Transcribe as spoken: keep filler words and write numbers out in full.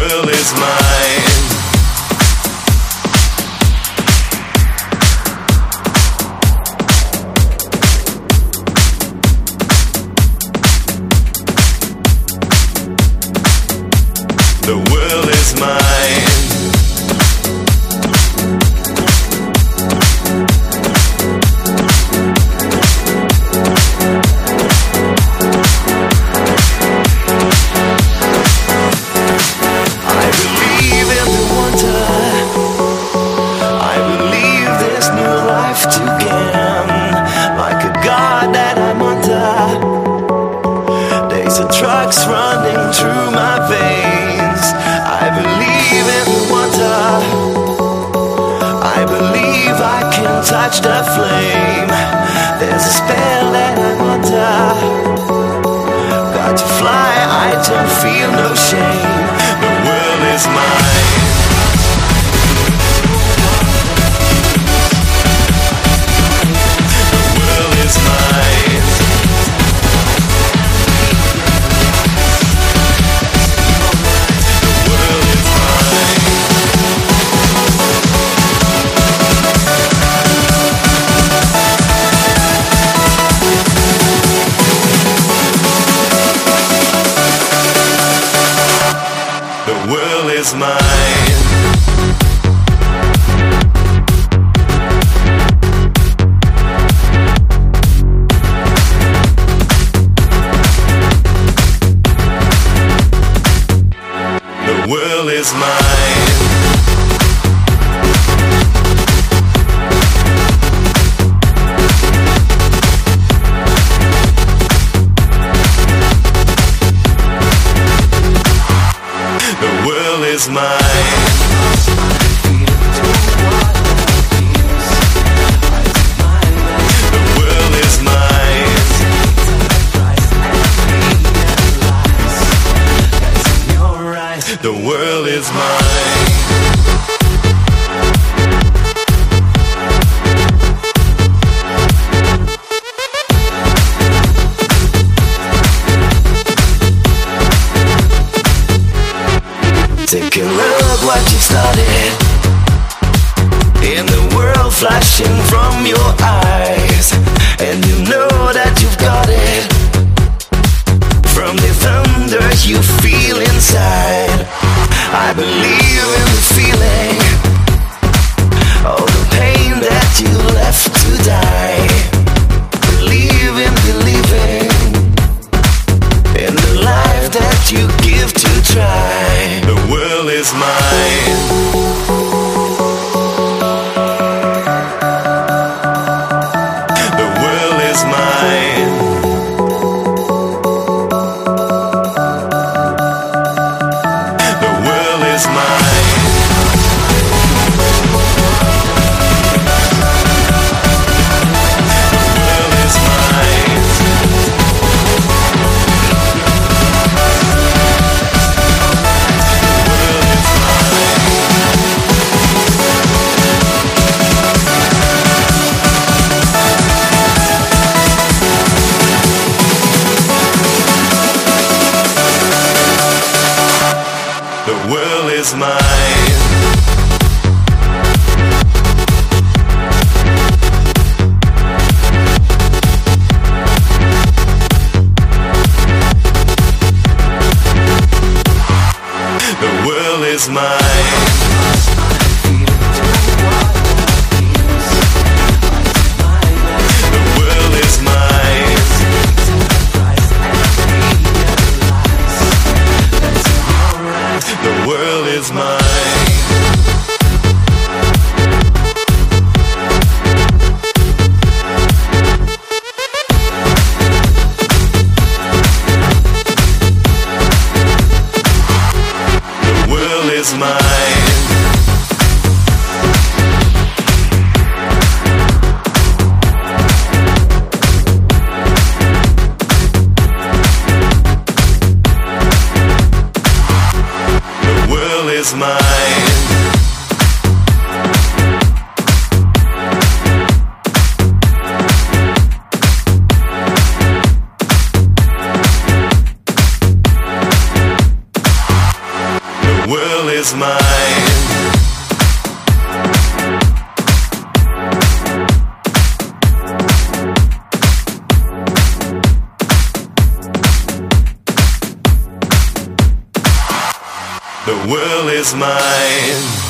world is mine. The world is mine. I believe in the wonder. I believe there's new life to gain. Like a god that I'm under. There's a drugs running through my veins. I believe in the wonder. I believe I can touch the flame. There's a spell that I'm under. Got to fly, I don't feel no shame. The world is mine. The world is mine. The world is mine. The world is mine. The world is mine. The world is mine. The world is mine. Take a look what you started. In the world flashing from your eyes. And you know that you've got it. From the thunder you feel inside. I believe in the feeling. All the pain that you left to die. Believe in believing. In the life that you give to try. The world is mine. The world is mine. The world is mine. The world is mine. The world is mine. The world is mine. The world is mine. The world is mine. The world is mine. The world is mine. The world world is mine. The world is mine.